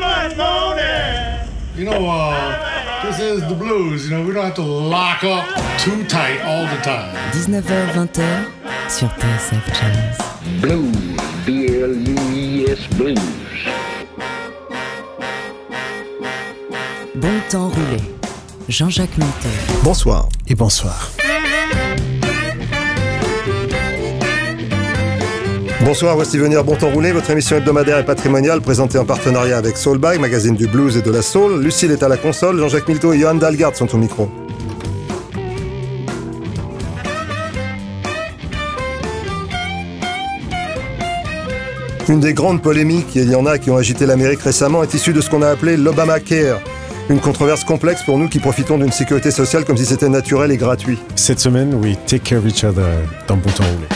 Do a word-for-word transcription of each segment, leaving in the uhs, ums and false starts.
You know, uh, this is the blues, you know, we don't have to lock up too tight all the time. dix-neuf heures vingt sur T S F Jazz. Blues, B L U I S Blues. Bon temps roulé. Jean-Jacques Milteau. Bonsoir et bonsoir. Bonsoir, voici venir Bon Temps Roulé, votre émission hebdomadaire et patrimoniale présentée en partenariat avec Soulbag, magazine du blues et de la soul. Lucille est à la console, Jean-Jacques Milteau et Johan Dalgarde sont au micro. Une des grandes polémiques, et il y en a qui ont agité l'Amérique récemment, est issue de ce qu'on a appelé l'Obamacare. Une controverse complexe pour nous qui profitons d'une sécurité sociale comme si c'était naturel et gratuit. Cette semaine, we take care of each other dans Bon Temps Roulé.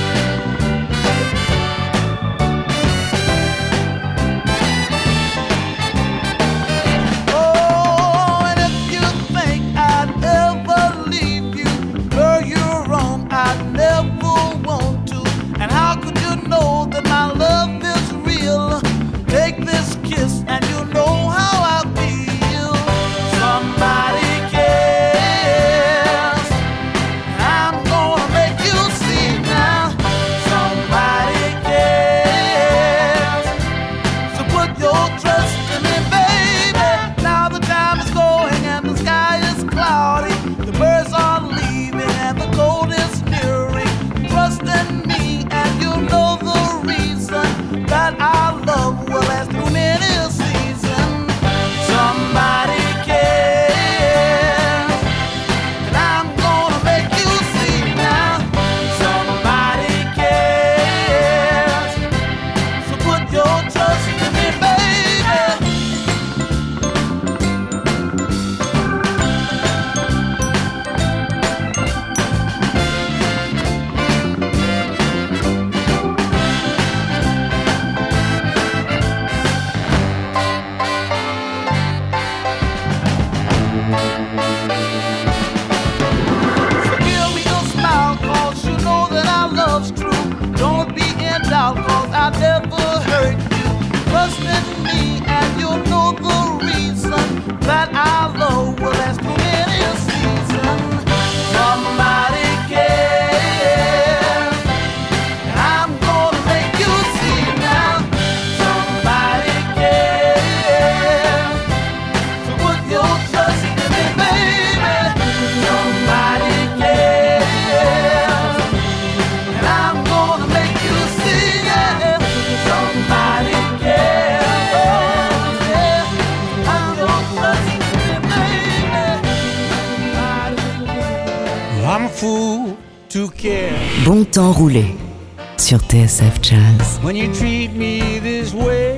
Bon Temps Roulé sur T S F Jazz. When you treat me this way,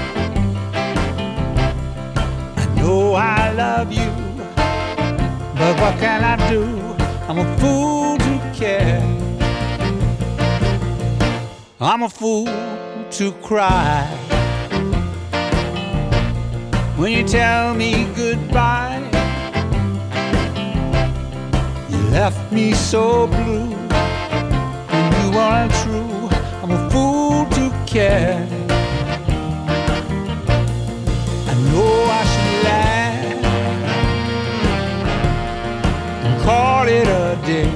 I know I love you, but what can I do? I'm a fool to care. I'm a fool to cry when you tell me goodbye. You left me so blue. You aren't true, I'm a fool to care. I know I should laugh and call it a day,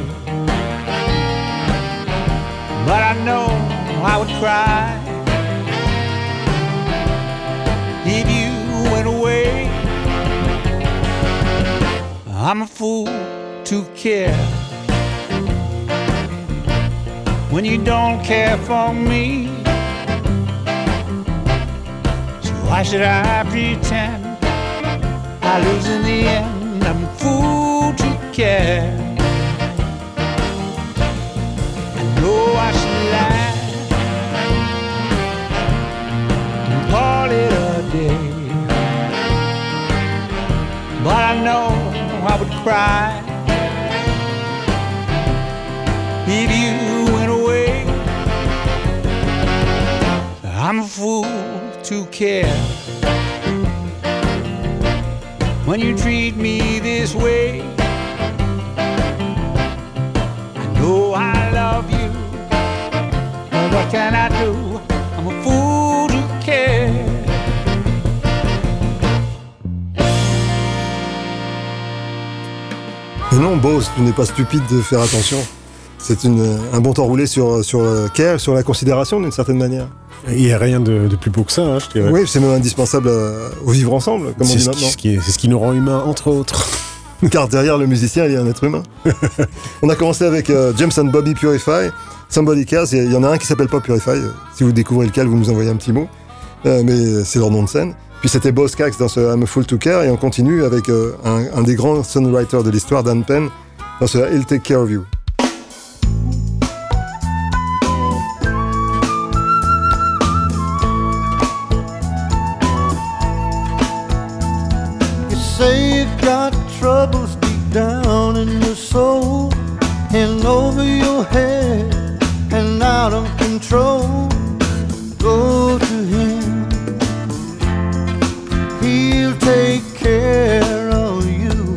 but I know I would cry if you went away. I'm a fool to care when you don't care for me. So why should I pretend I lose in the end? I'm a fool to care. I know I should laugh and call it a day, but I know I would cry if you went away. I'm a fool to care when you treat me this way. I know I love you, but what can I do? I'm a fool to care. Et non, Bose, tu n'es pas stupide de faire attention. C'est une, un bon temps roulé sur, sur le care, sur la considération d'une certaine manière. Il n'y a rien de, de plus beau que ça, hein, je dirais. Oui, c'est même indispensable à, au vivre ensemble, comme on c'est dit ce maintenant. qui, ce qui est, c'est ce qui nous rend humains, entre autres. Car derrière le musicien, il y a un être humain. On a commencé avec euh, James and Bobby Purify, Somebody Cares. Il y en a un qui s'appelle pas Purify. Si vous découvrez lequel, vous nous envoyez un petit mot. Euh, mais c'est leur nom de scène. Puis c'était Boz Scaggs dans ce I'm a Fool to Care. Et on continue avec euh, un, un des grands songwriters de l'histoire, Dan Penn, dans ce He'll Take Care of You. Say you got troubles deep down in your soul, and over your head and out of control. Go to him, he'll take care of you.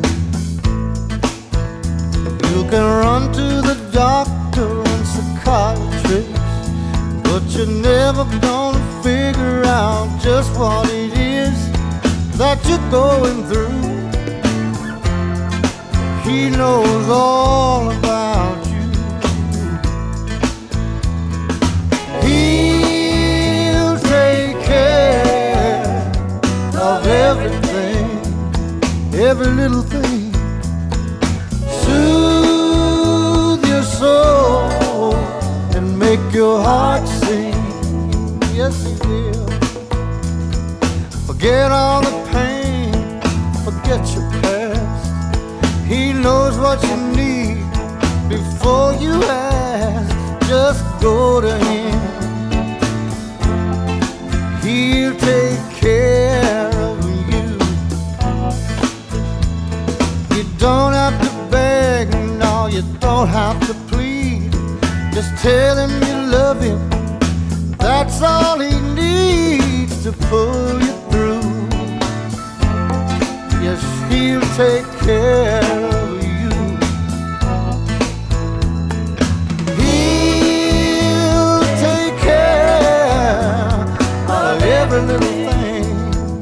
You can run to the doctor and psychiatrist, but you're never gonna figure out just what it is that you're going through. He knows all about you. He'll take care of everything, every little thing. Soothe your soul and make your heart sing. Yes, he will. Forget all the pain, forget your past. He knows what you need before you ask. Just go to him, he'll take care of you. You don't have to beg, no, you don't have to plead. Just tell him you love him, that's all he needs to pull you through. Yes, he'll take care of you. He'll take care of every little thing.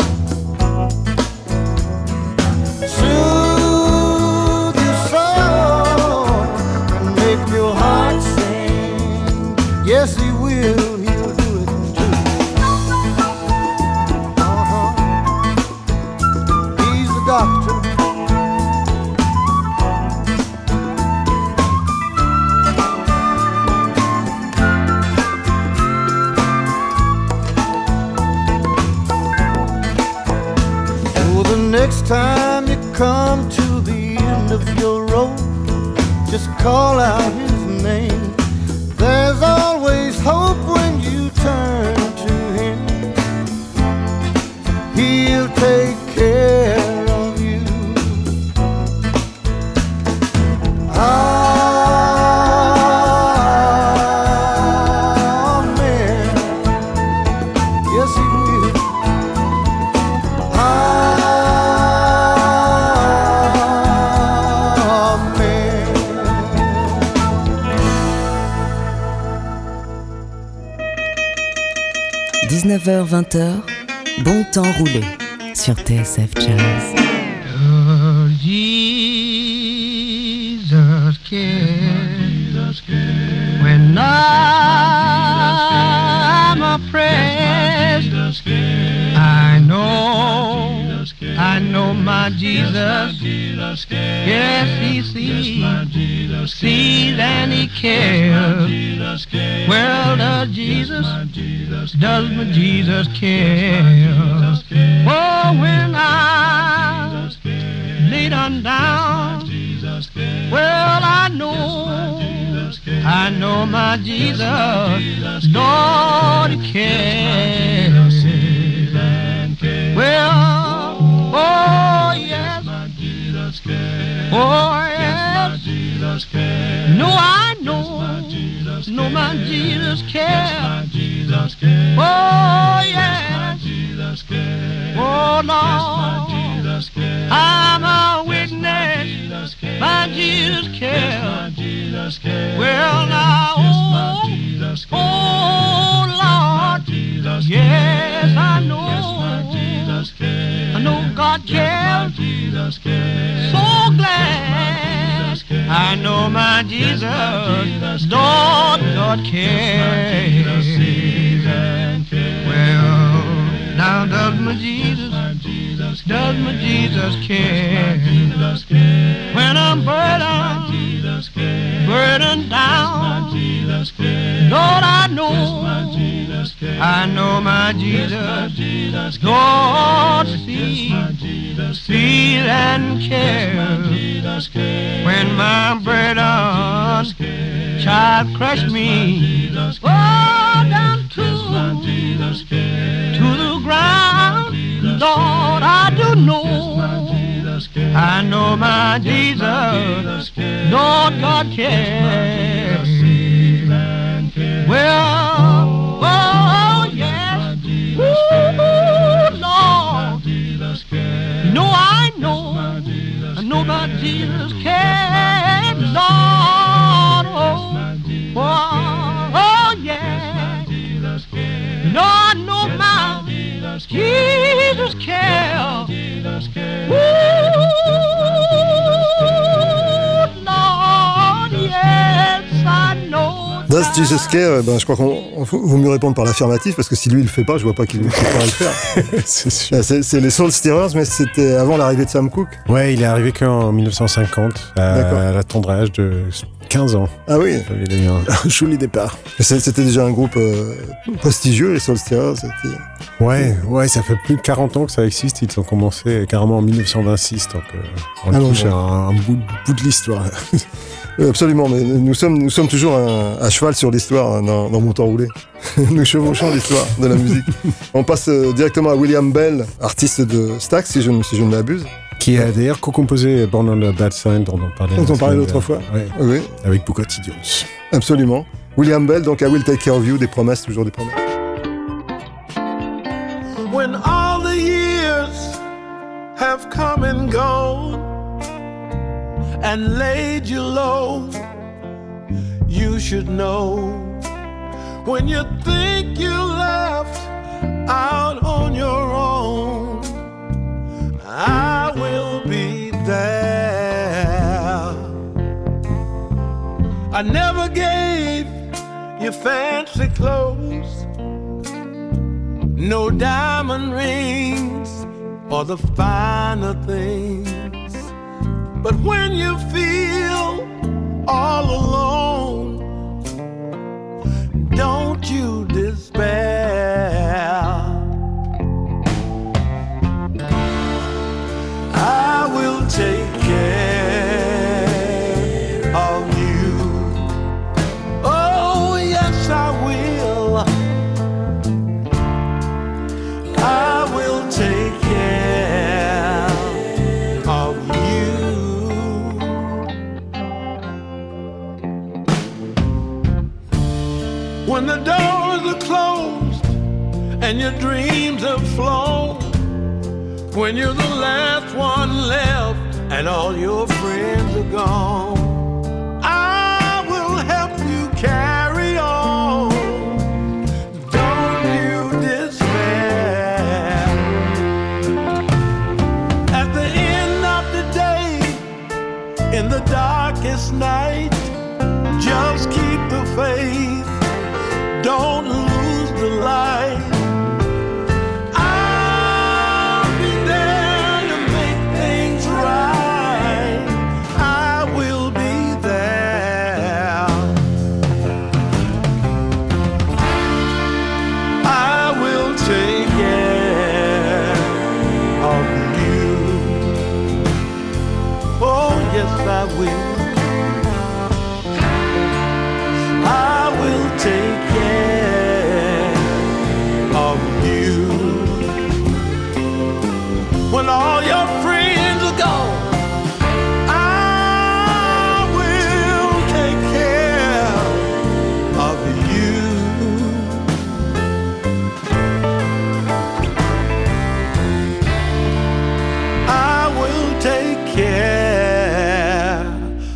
Soothe your soul and make your heart sing. Yes, he will, he'll do it too. Uh-huh. He's the doctor. Next time you come to the end of your road, just call out his name. There's always hope when you turn to him. He'll take care of you. Amen. Yes, he will. dix-neuf heures vingt, bon temps roulé sur T S F Jazz. Oh, Jesus cares when I'm oppressed. I know, I know my Jesus. Yes, he sees, sees and he cares. Well, does Jesus, does my Jesus care? Oh, when I lay down down, well, I know, I know my Jesus, Lord, he cares. Well, oh, yes, oh, yes, no, I know, no, my Jesus cares. Oh, yes, oh, Lord, I'm a witness, my Jesus cares. Well, now, oh, oh, Lord, yes, I know, I know God cares. So glad know my Jesus, Lord, Lord cares. Well, now does my Jesus, does my Jesus care? When I'm burdened, burdened down, Lord, I know, I know my Jesus, Lord, see, feel and care. When my burden child crush me, oh, down to, to the ground, Lord, I do know, I know my Jesus, Lord God cares. Well, oh yes, ooh, Lord, no, I know, I know my Jesus cares, Lord, oh, oh, oh yeah, no, I know my Jesus cares, ooh, Lord, yes, I know. Does Jesus care? Ben, je crois qu'on vaut mieux répondre par l'affirmatif, parce que si lui il le fait pas, je vois pas qu'il pourra le faire. C'est sûr. C'est, c'est les Soul Stirrers, mais c'était avant l'arrivée de Sam Cooke. Ouais, il est arrivé qu'en dix-neuf cent cinquante, à, à la tendre âge de quinze ans. Ah oui. Il a eu un, un joli départ. C'est, c'était déjà un groupe euh, prestigieux, les Soul Stirrers. C'était... Ouais, ouais, ça fait plus de quarante ans que ça existe. Ils ont commencé carrément en dix-neuf cent vingt-six, donc euh, on ah touche bon, à un, un bout, bout de l'histoire. Absolument, mais nous sommes, nous sommes toujours un, à cheval sur l'histoire dans, dans Mon Temps Roulé. Nous chevauchons l'histoire de la musique. On passe euh, directement à William Bell, artiste de Stax, si je, si je ne m'abuse. Qui a d'ailleurs co-composé Born on a Bad Sign, dont on parlait, dont on parlait l'autre fois. Ouais, oui. Avec Booker T. Jones. Absolument. William Bell, donc I Will Take Care of You, des promesses, toujours des promesses. When all the years have come and gone and laid you low, you should know. When you think you left out on your own, I will be there. I never gave you fancy clothes, no diamond rings or the finer things. But when you feel all alone, don't you despair. I will take care of you. Oh, yes, I will. I will take care of you. When the doors are closed and your dreams have flown, when you're the last one left and all your friends are gone, I will help you carry on. Don't you despair. At the end of the day, in the darkest night, just keep the faith. Don't lose the light. I will. I will take care of you. When all your friends are gone, I will take care of you. I will take care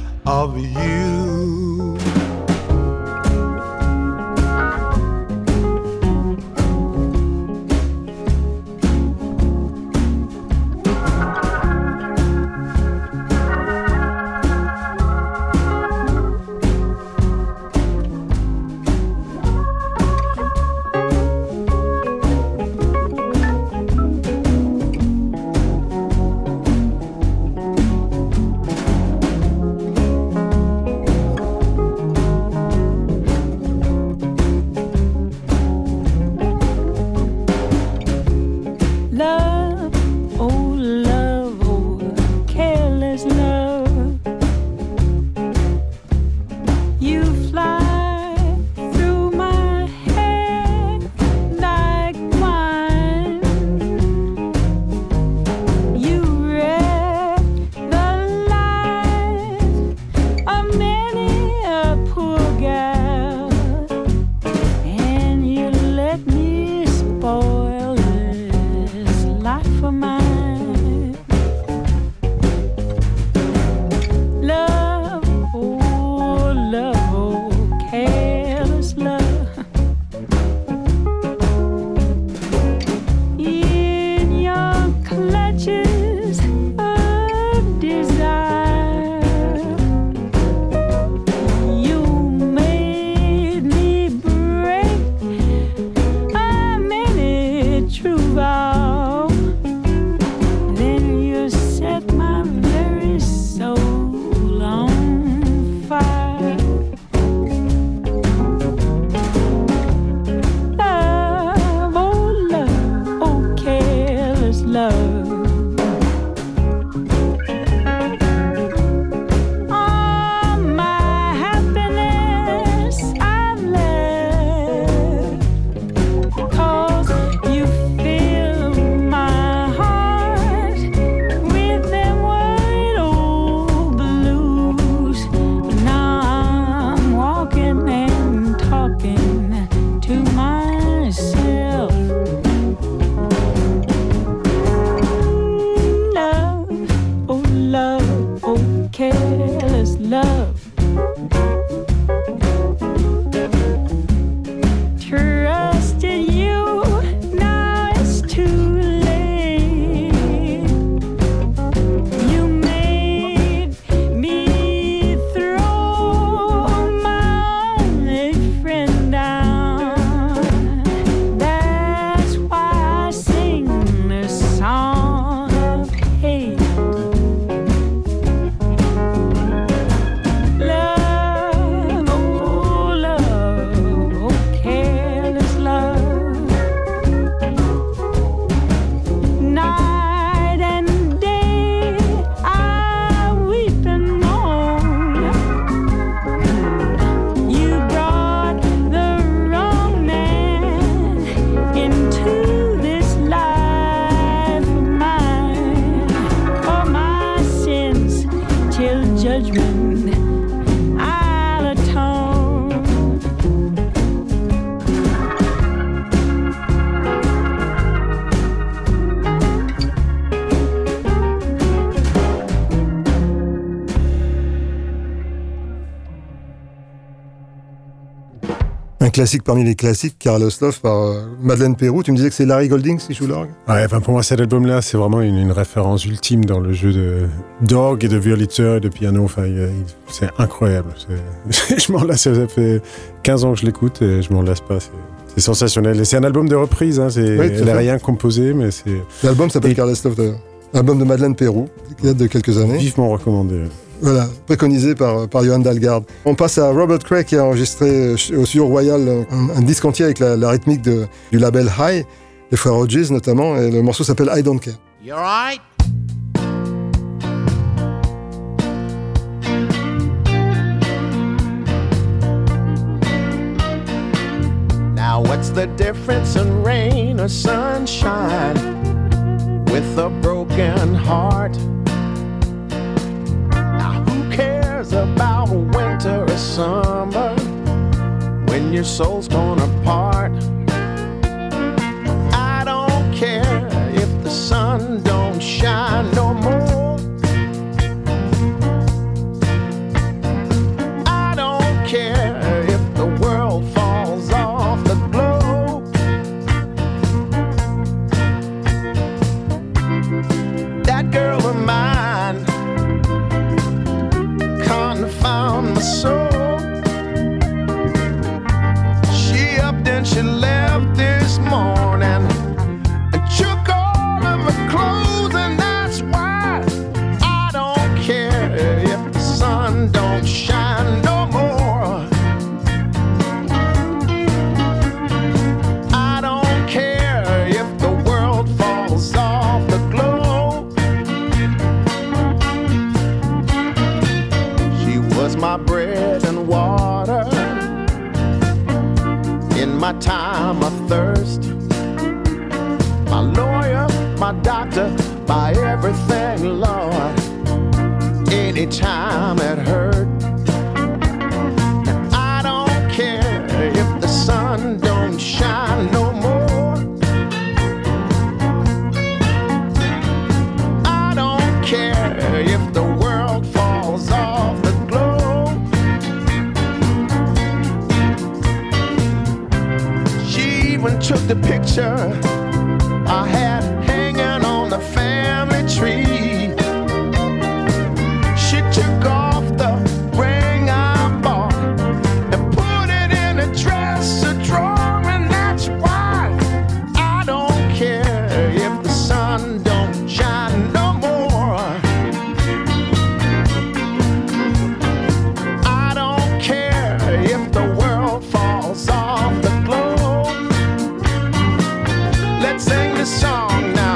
classique parmi les classiques, Careless Love par euh, Madeleine Peyroux. Tu me disais que c'est Larry Goldings qui joue l'orgue? Ouais, enfin pour moi cet album-là, c'est vraiment une, une référence ultime dans le jeu de d'orgue et de violoncheur et de piano. Enfin, il, il, c'est incroyable. C'est, je m'en lasse, ça fait quinze ans que je l'écoute et je m'en lasse pas. C'est, c'est sensationnel. Et c'est un album de reprise. Hein, c'est, oui, elle n'a rien composé, mais c'est. L'album s'appelle et... Careless Love d'ailleurs. Album de Madeleine Peyroux, qui date de quelques années. Vivement recommandé. Voilà, préconisé par, par Johan Dalgarde. On passe à Robert Cray qui a enregistré au Studio Royal un, un disque entier avec la, la rythmique de, du label High, les frères Hodges notamment, et le morceau s'appelle I Don't Care. You alright? Now what's the difference in rain or sunshine with a broken heart? About winter or summer when your soul's torn apart. I don't care if the sun don't shine no more. I don't care if the world falls off the globe. That girl of mine found my soul. She upped and she left this morning and took all of her clothes, and that's why I don't care if the sun don't shine no more. I don't care if the world falls off the globe. Was my bread and water in my time of thirst, my lawyer, my doctor, my everything, Lord, anytime it hurt. I don't care if the sun don't shine no more. I don't care if the world falls off the took the picture I had hanging on the family tree. She took off the ring I bought and put it in a dresser drawer, and that's why I don't care if the sun don't shine no more. I don't care if the world falls off the globe. Let's sing this song now.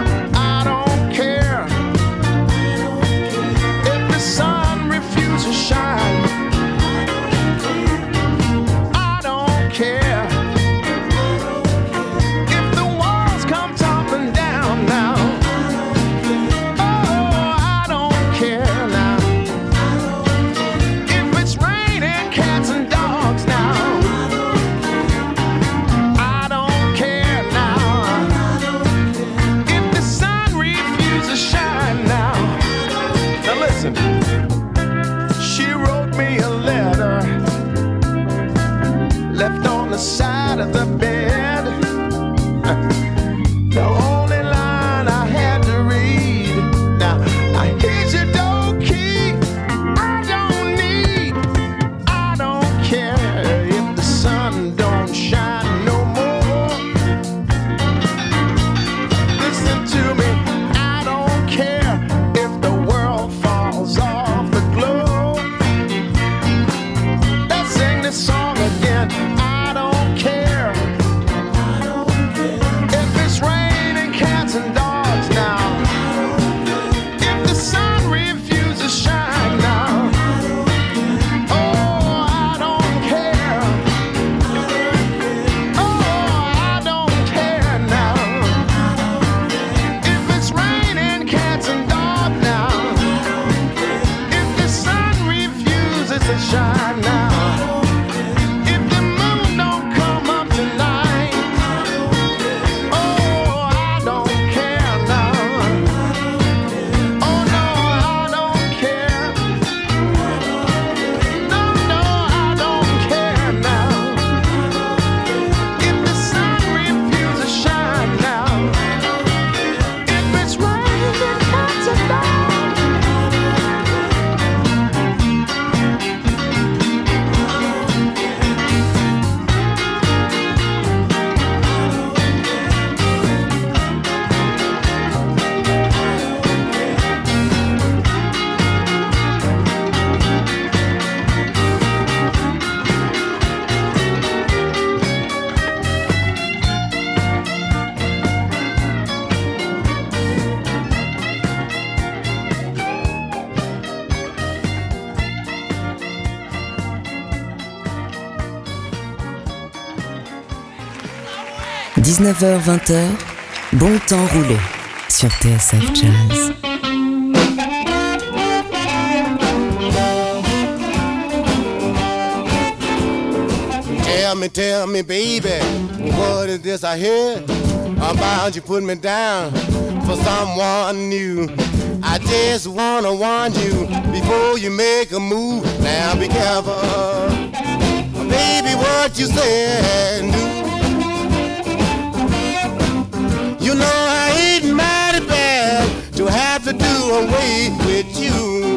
dix-neuf heures vingt, bon temps roulé sur T S F Jazz. Tell me, tell me, baby, what is this I hear about you putting me down for someone new? I just wanna warn you before you make a move. Now be careful, baby, what you say and do. You know I hate mighty bad to have to do away with you.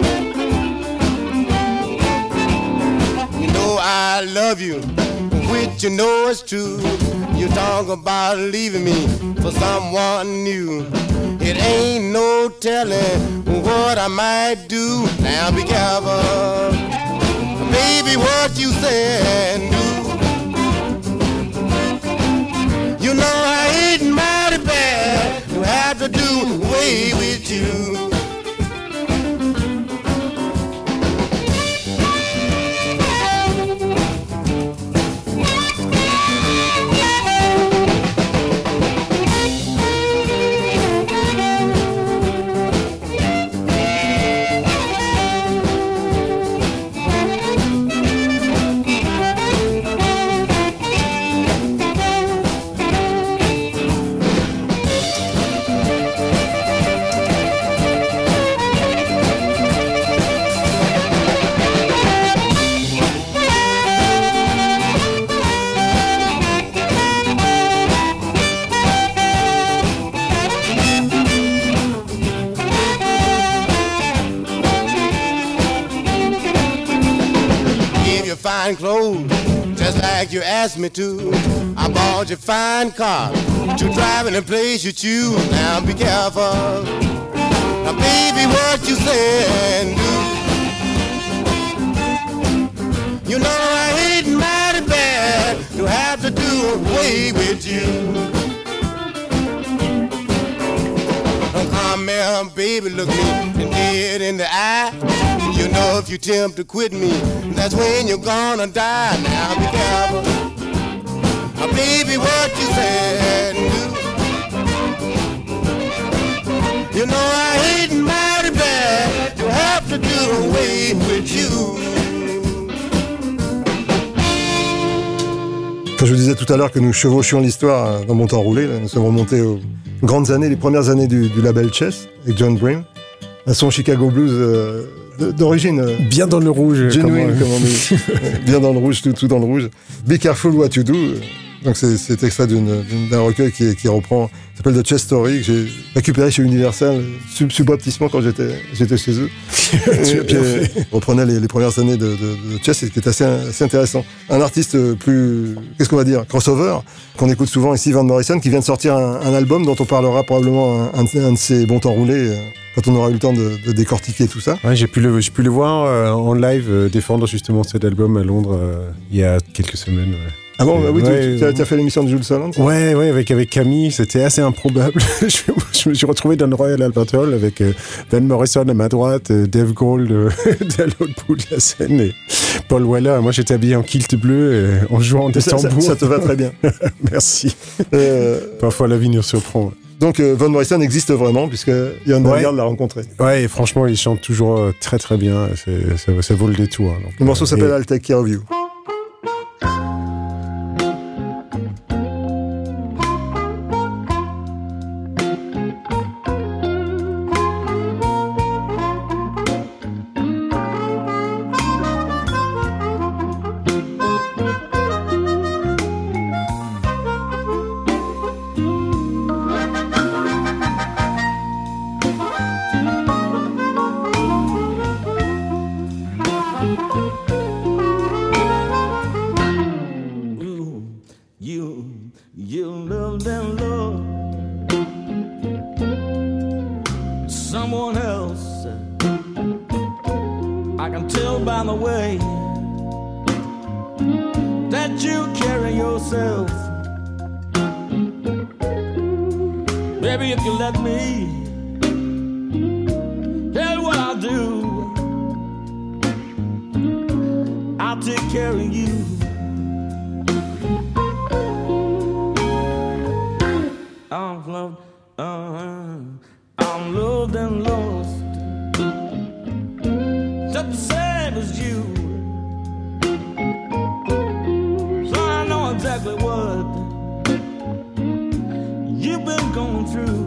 You know I love you, which you know is true. You talk about leaving me for someone new. It ain't no telling what I might do. Now be careful, baby, what you say and do. You know I hate mighty bad to have to do away with you. Fine clothes, just like you asked me to. I bought you fine car to drive in the place you choose. Now be careful, now baby, what you say and do. You know I hate mighty bad to have to do away with you. Come here, baby, look me dead in the eye. You know if you attempt to quit me, that's when you're gonna die. Now be careful, now, baby, what you say and do. You know I hate mighty bad to have to do away with you. Quand je vous disais tout à l'heure que nous chevauchions l'histoire dans Bon Temps Roulé, là, nous sommes remontés aux grandes années, les premières années du, du label Chess avec John Bream, un son Chicago Blues euh, d'origine euh, bien dans le rouge, genuine, comme on dit. Bien dans le rouge, tout, tout dans le rouge. Be Careful What You Do. Donc c'est, c'est extrait d'une, d'un recueil qui, qui reprend, qui s'appelle The Chess Story, que j'ai récupéré chez Universal sub, subrepticement quand j'étais, j'étais chez eux. Tu as bien fait. Reprenait les, les premières années de, de, de Chess, et qui est assez, assez intéressant. Un artiste plus, qu'est-ce qu'on va dire, crossover, qu'on écoute souvent ici, Van Morrison, qui vient de sortir un, un album dont on parlera probablement un, un, un de ses bons temps roulés, euh, quand on aura eu le temps de, de décortiquer tout ça. Ouais, j'ai pu le, j'ai pu le voir euh, en live euh, défendre justement cet album à Londres euh, il y a quelques semaines. Ouais. Ah bon, bah oui, ouais, tu, tu, tu as fait l'émission de Jules Solon? Ouais, ouais, avec, avec Camille, c'était assez improbable. je, je me suis retrouvé dans le Royal Albert Hall avec euh, Van Morrison à ma droite, euh, Dave Grohl euh, à l'autre bout de la scène et Paul Weller. Moi, j'étais habillé en kilt bleu et en jouant des ça, tambours. Ça, ça te va très bien. Merci. Euh... Parfois, la vie nous surprend. Donc, euh, Van Morrison existe vraiment, puisque Ian Dagard ouais. l'a rencontré. Ouais, et franchement, il chante toujours euh, très très bien. C'est, ça, ça vaut le détour. Donc, le morceau euh, s'appelle et... I'll Take Care of You. I've loved, uh, I'm loved and lost, just the same as you. So I know exactly what you've been going through.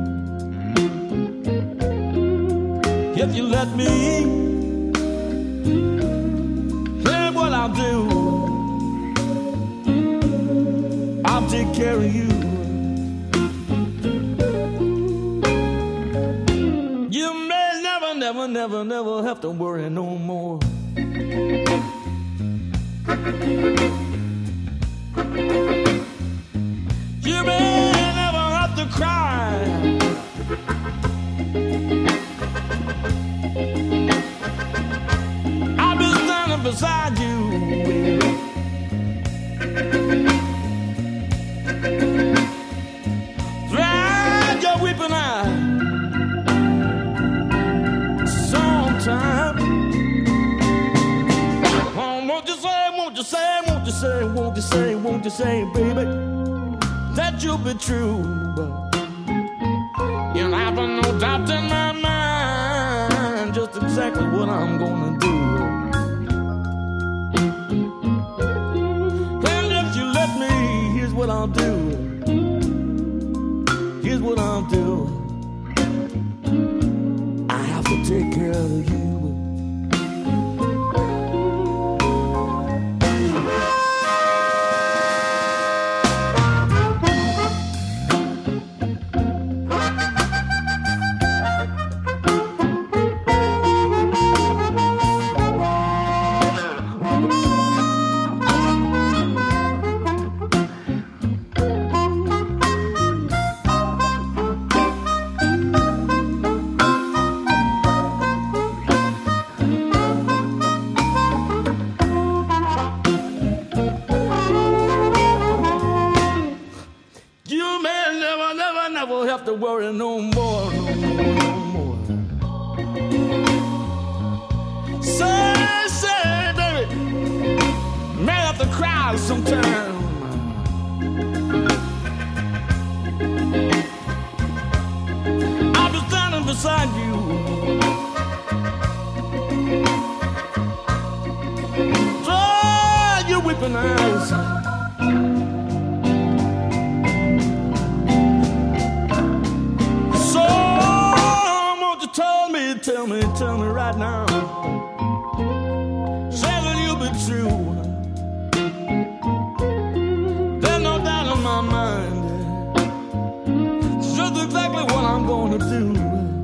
If you let me, here's what I'll do. I'll take care of you. You may never, never, never, never have to worry no more. You may never have to cry. I'll be standing beside you, baby. Dry your weeping eye sometime. Oh, won't you say, won't you say, won't you say, won't you say, won't you say, baby, that you'll be true. You'll have no doubt in my mind just exactly what I'm gonna do. And if you let me, here's what I'll do. Here's what I'll do. I have to take care of you. Have to worry no more, no more, no more. Say, say, baby, may have to cry sometime. I'll be standing beside you. Dry your weeping eyes. Tell me, tell me right now, say that you'll be true. There's no doubt in my mind, it's just exactly what I'm gonna do.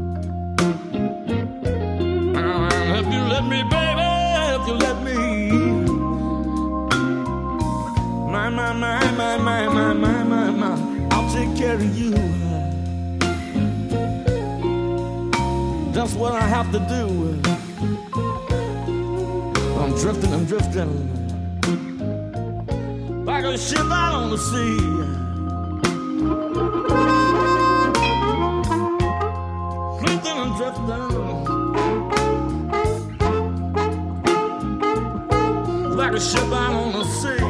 And if you let me, baby, if you let me, my, my, my, my, my, my, my, my, my, I'll take care of you. That's what I have to do. I'm drifting, I'm drifting like a ship out on the sea. Drifting and drifting like a ship out on the sea.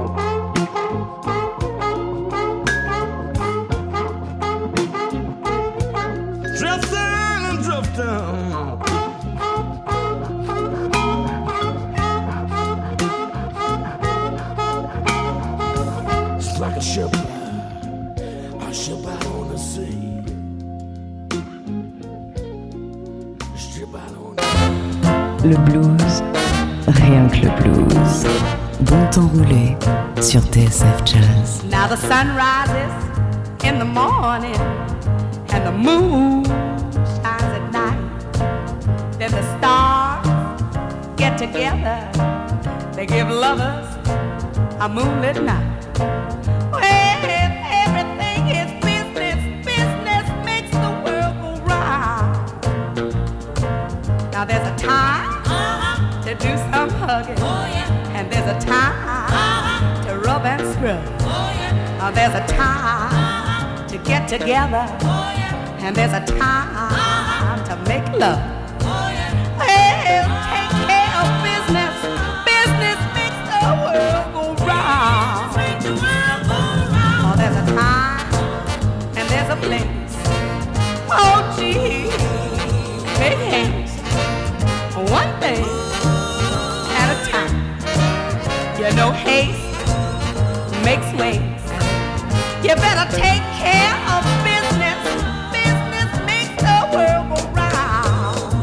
It's like a ship, a ship out on the sea. A ship out on the sea. Le blues, rien que le blues. Bon temps roulé sur T S F Jazz. Now the sun rises in the morning and the moon shines at night. Then the stars get together. They give lovers a moonlit night. Well, everything is business. Business makes the world go round. Now there's a time uh-huh. to do some hugging. Oh, yeah. And there's a time uh-huh. to rub and scrub. Oh, yeah. Now there's a time uh-huh. to get together. Oh, yeah. And there's a time uh-huh. to make love. Oh, yeah. Well, take care of business. Business makes the world go round. Oh, there's a time and there's a place. Oh, gee, make haste. One thing at a time. You know haste makes waste. You better take care of business. Business makes the world go round.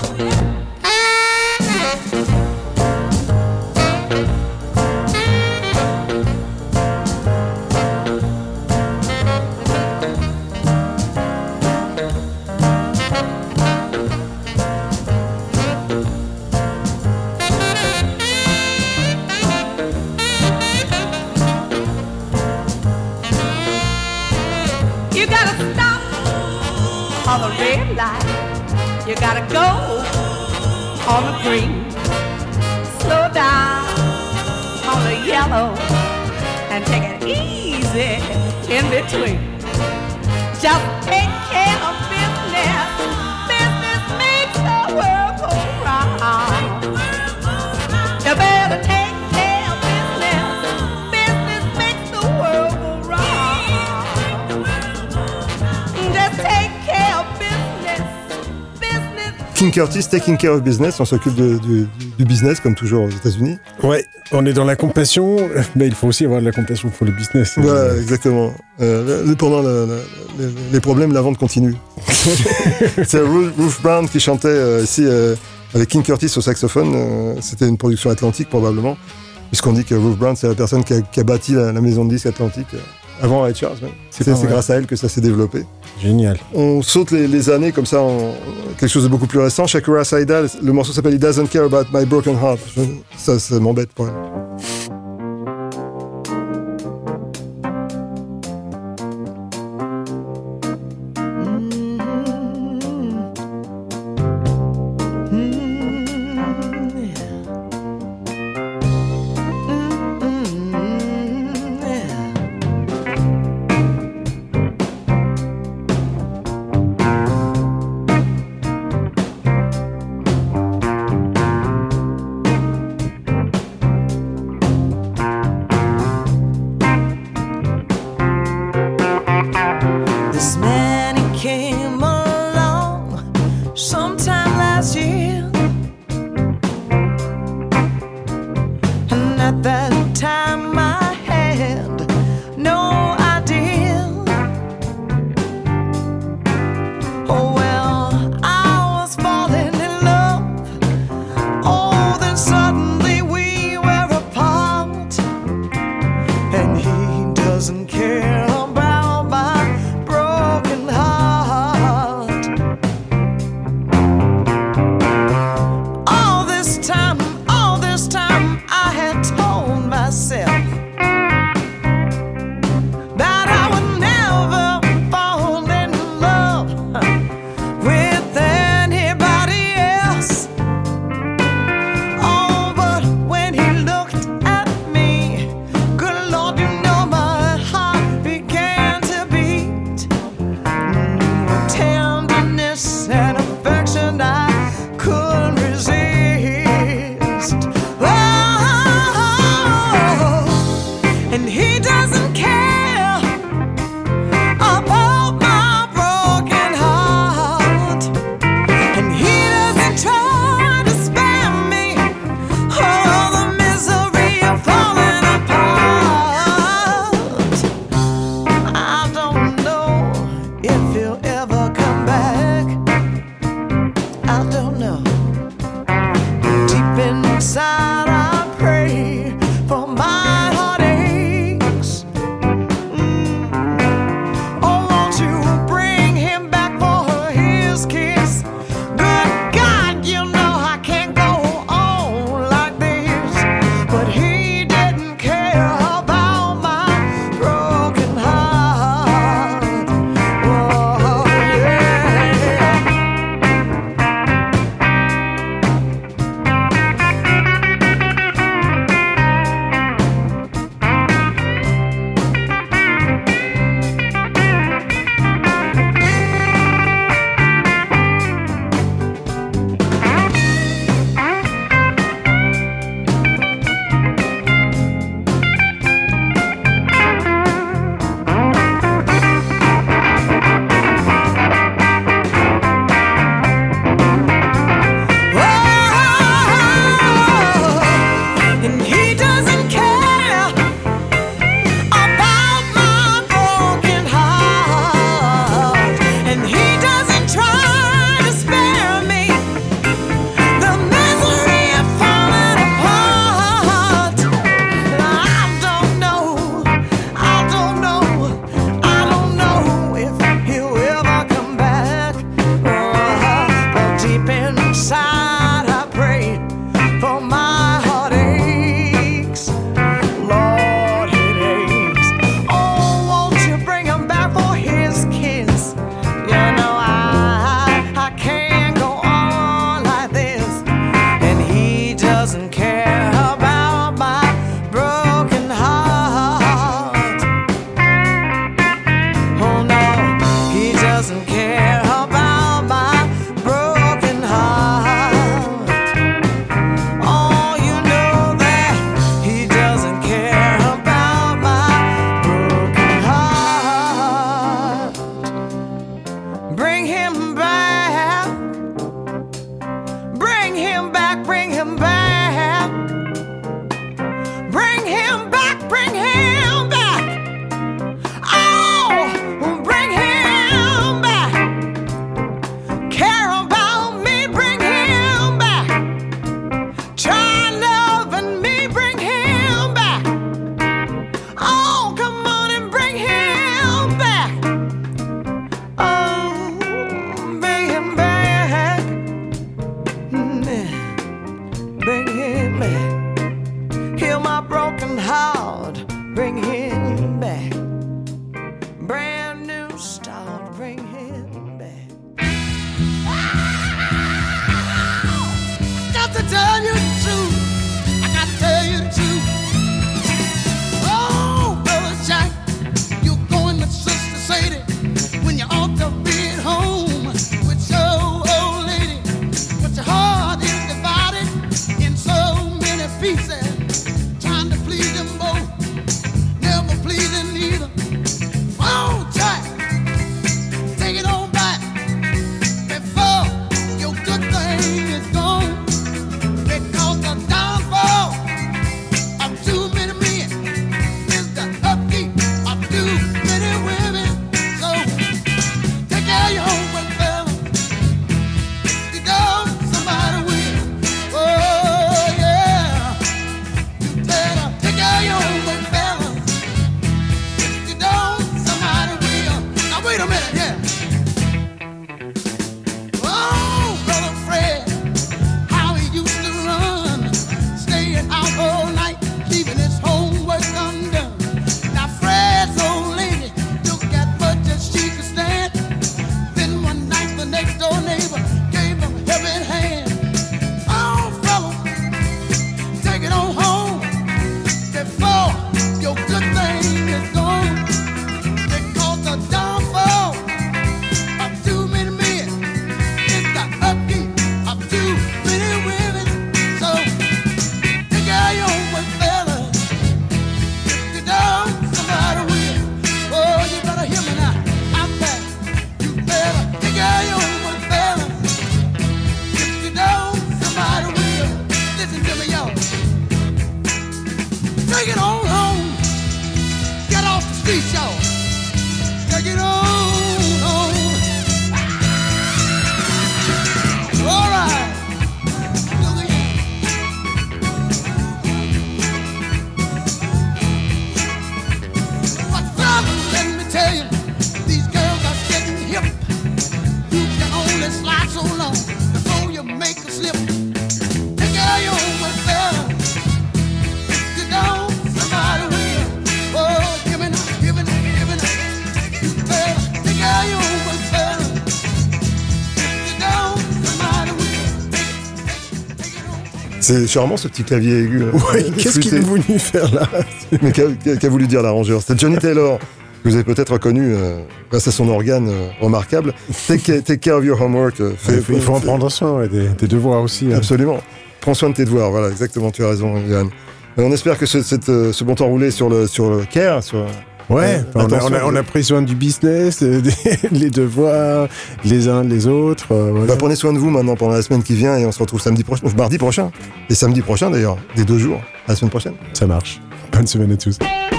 You gotta stop on the red light. You gotta go on the green. Slow down on the yellow and take it easy in between. Just take care of business. Business makes the world go round. You better take care of business. Business makes the world go round. Just take care of business. Business. King Curtis, Taking Care of Business, on s'occupe de, du, du business comme toujours aux États-Unis. Ouais, on est dans la compassion, mais il faut aussi avoir de la compassion pour le business. Voilà, exactement. Euh, le- pendant le- le- le- les problèmes, la vente continue. C'est Ruth, Ruth Brown qui chantait euh, ici euh, avec King Curtis au saxophone. Euh, c'était une production Atlantique probablement, puisqu'on dit que Ruth Brown c'est la personne qui a, qui a bâti la, la maison de disques Atlantique euh, avant Ray Charles. Même. C'est C'est pas c'est vrai. grâce à elle que ça s'est développé. Génial. On saute les, les années comme ça en quelque chose de beaucoup plus récent. Shakira Saida, le morceau s'appelle He Doesn't Care About My Broken Heart. Je- ça, ça m'embête pour elle. care about my broken heart. Oh, you know that he doesn't care about my broken heart. Bring him back, bring him back, bring him back, bring him back, bring him back. Oh, bring him back. Care about me, bring him back. Try loving me, bring him back. Oh, come on and bring him back. Oh, bring him back. Mm, Bring him back. Heal my broken heart, bring him back. Brand new start, bring him back. Got to tell you the truth. I got to tell you the truth. Oh, brother Jack, you're going with Sister Sadie when you ought to be at home with your old lady. But your heart is divided in so many pieces, trying to please them both, never pleasing either. Oh, Jack, take it on back before your good thing is gone. Because the downfall of too many men is the upkeep of too many women. So take care of your homework, fella. If you don't, somebody will. Oh, yeah. You better take care of your homework, fella. If you don't, somebody will. Now wait a minute, yeah. Oh, brother Fred, how he used to run, staying out all night, leaving his homework undone. Now Fred's old lady took as much as she could stand. Then one night the next door neighbor gave him a helping hand. Oh, fella, take it on home before your good thing is gone. Because the downfall of too many men is the upkeep of too many women. So take care of your homework, fellas. If you don't, somebody will. Oh, you better hear me now. I'm back. You better take care of your homework, fellas. If you don't, somebody will. Listen to me, y'all. Take it on home. Get off the streets, y'all. Take it on home. All right. Look at you. But brother, let me tell you, these girls are getting hip. You can only slide so long before you make a slip. Take care of your homework, fella. If you don't, somebody will. Oh, give me now, give me now, give me now. You better take care of your homework, fella. If you don't, somebody will. Take it, take it on. C'est charmant ce petit clavier aigu. là. Ouais, qu'est-ce qu'il est Flûté. venu faire là? Mais qu'a qu'a- qu'a voulu dire l'arrangeur? C'était Johnny Taylor, que vous avez peut-être reconnu euh, grâce à son organe euh, remarquable. Take, ca- take care of your homework. euh, Il fait- faut, il faut en fait- prendre soin, ouais, des, des devoirs aussi. hein. Absolument. Prends soin de tes devoirs, voilà, exactement, tu as raison, Yann. Euh, On espère que ce, cette, euh, ce bon temps roulé sur le, sur le care, sur, Ouais, Euh, on, a, attention, on, a, on vous- a pris soin du business, euh, des- les devoirs, les uns les autres. euh, voilà. Bah, prenez soin de vous maintenant pendant la semaine qui vient et on se retrouve samedi prochain, ou mardi prochain. Et samedi prochain d'ailleurs, des deux jours, à la semaine prochaine. Ça marche. Bonne semaine à tous.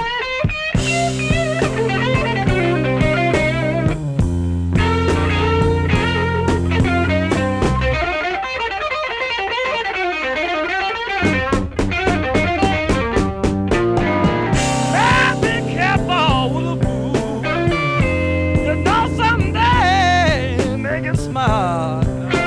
Be careful with a fool. You know someday make it smart.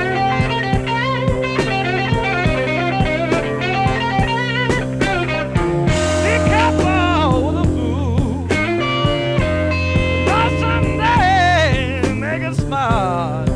Be careful with a fool. You know someday make it smart.